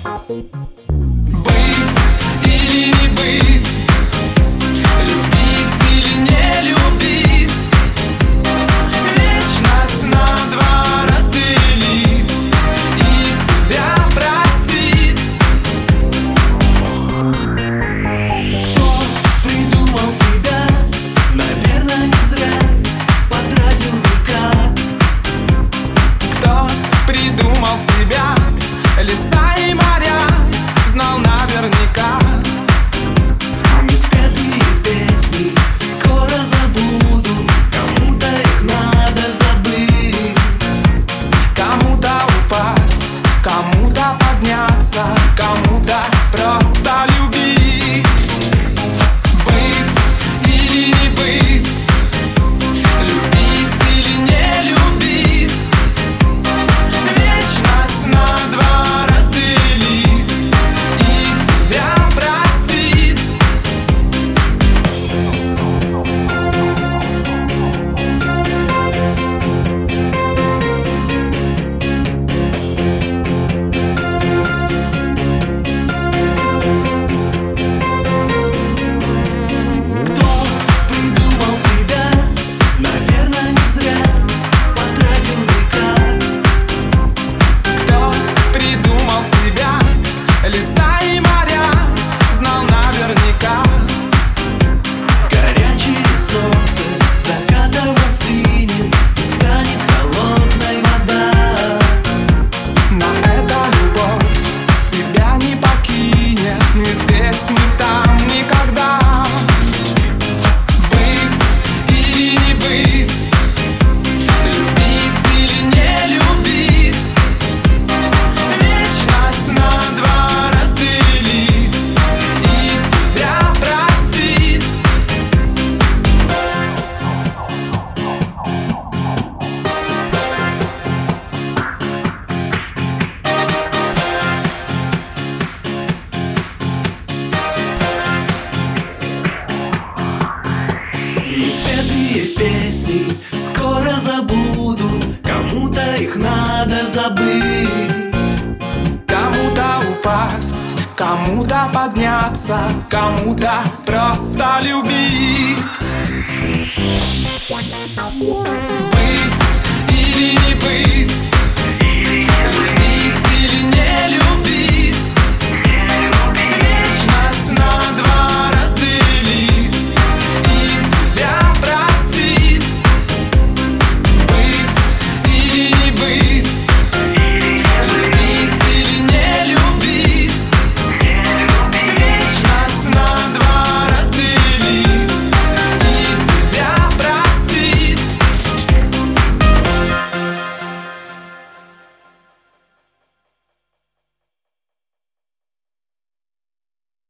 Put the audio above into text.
Быть или не быть, любить или не любить, вечность на два разделить и тебя простить. Кто придумал тебя, наверное, не зря потратил века. Кто придумал тебя, леса и моря, знал наверняка. Неспетые песни скоро забуду, кому-то их надо забыть. Кому-то упасть, кому-то подняться, кому-то просто любить. Быть или не быть, любить или не любить, вечность на два разделить и тебя простить. Кто придумал тебя, наверное, не зря потратил века. Кто придумал тебя, леса и моря, знал наверняка. Горячее солнце закатом остынет, и станет холодной вода. Но эта любовь тебя не покинет ни здесь, ни там, никогда. Быть или не быть, любить или не любить, вечность на два разделить и тебя простить. Неспетые песни скоро забуду, кому-то их надо забыть. Кому-то упасть, кому-то подняться, кому-то просто любить. Быть или не быть,